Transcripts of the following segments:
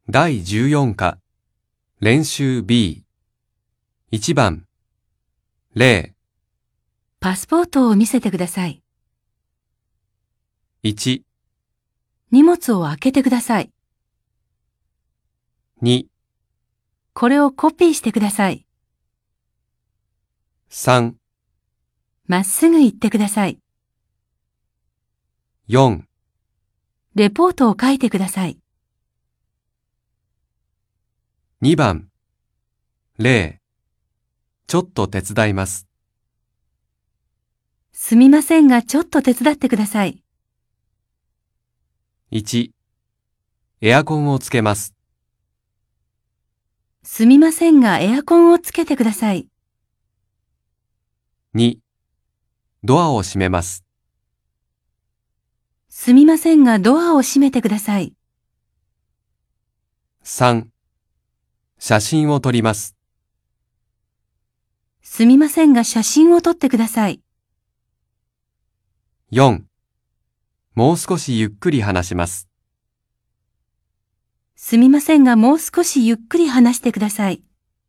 第14課、練習 B。1番、0、 パスポートを見せてください。 1、 荷物を開けてください。 2、 これをコピーしてください。 3、 まっすぐ行ってください。 4、 レポートを書いてください。 2番、0、ちょっと手伝います。 すみませんがちょっと手伝ってください。 1、エアコンをつけます。 すみませんがエアコンをつけてください。 2、ドアを閉めます。 すみませんがドアを閉めてください。 3、写真を撮ります。 すみませんが写真を撮ってください。 4、もう少しゆっくり話します。 すみませんがもう少しゆっくり話してください。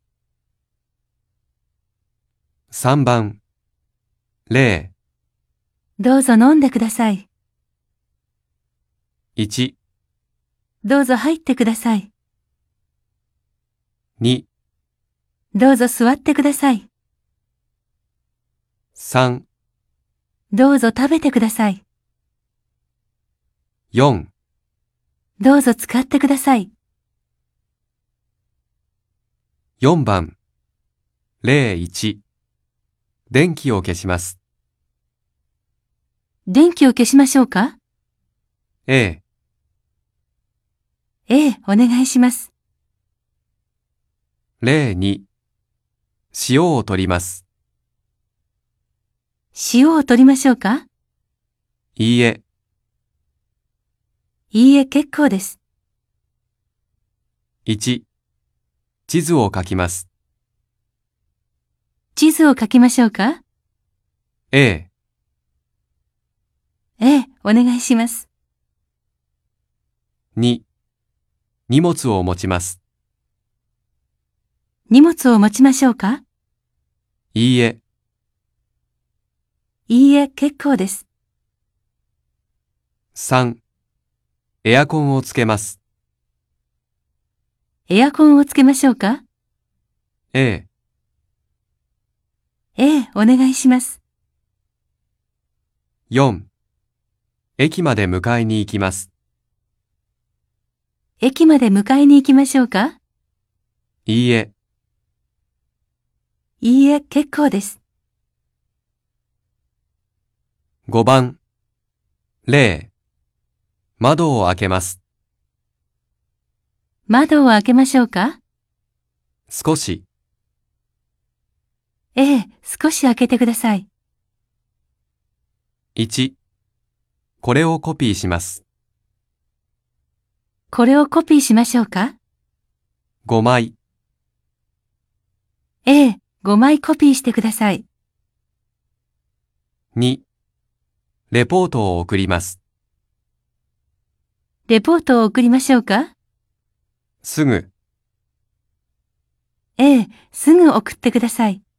3番、0、 どうぞ飲んでください。 1、 どうぞ入ってください。 2、 どうぞ座ってください。 3、 どうぞ食べてください。 4、 どうぞ使ってください。 4番、01、電気を消します。 電気を消しましょうか？ A、 お願いします。 02、塩を取ります。 塩を取りましょうか？ いいえ、 いいえ、結構です。 1、地図を書きます。 地図を書きましょうか？ A、 お願いします。 2、荷物を持ちます。 荷物を持ちましょうか？ いいえ、 いいえ、結構です。 3、エアコンをつけます。 エアコンをつけましょうか？ A、 お願いします。 4、駅まで迎えに行きます。 駅まで迎えに行きましょうか？ いいえ、 いいえ、結構です。 5番、0、窓を開けます。 窓を開けましょうか？ 少し、 少し開けてください。 1、これをコピーします。 これをコピーしましょうか 5枚、 ？5枚コピーしてください。 2、レポートを送ります。 レポートを送りましょうか？ すぐ、 すぐ送ってください。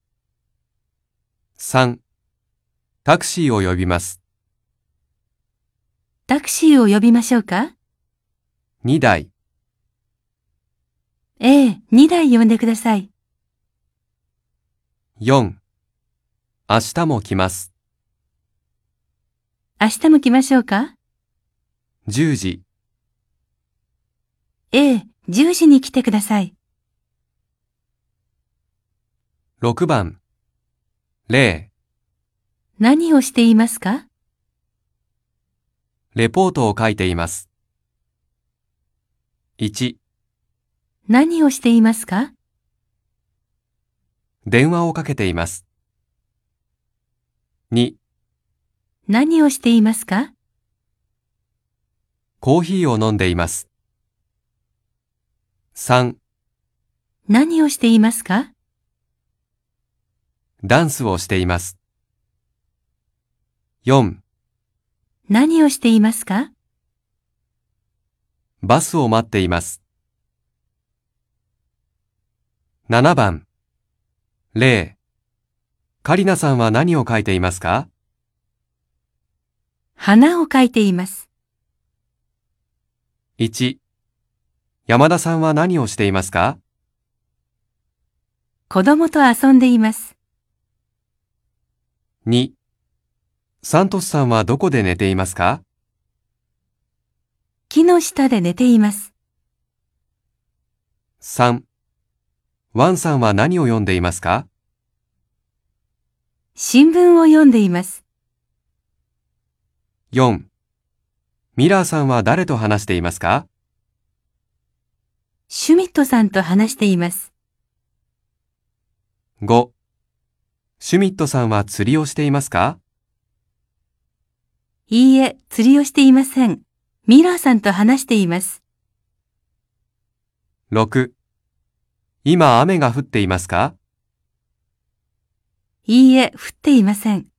3、タクシーを呼びます。 タクシーを呼びましょうか 2台、 2台呼んでください。 4、明日も来ます。 明日も来ましょうか 10時、 10時に来てください。 6番、0、 何をしていますかレポートを書いています。1、 何をしていますか電話をかけています。2、 何をしていますかコーヒーを飲んでいます。3、 何をしていますかダンスをしています。4、 何をしていますかバスを待っています。 7番、例。カリナさんは何を描いていますか？ 花を描いています。 1、山田さんは何をしていますか？ 子供と遊んでいます。 2、サントスさんはどこで寝ていますか？ 木の下で寝ています。 3、ワンさんは何を読んでいますか？ 新聞を読んでいます。 4、ミラーさんは誰と話していますか？ シュミットさんと話しています。 5、シュミットさんは釣りをしていますか？ いいえ、釣りをしていません。ミラーさんと話しています。 6、今雨が降っていますか？ いいえ、降っていません。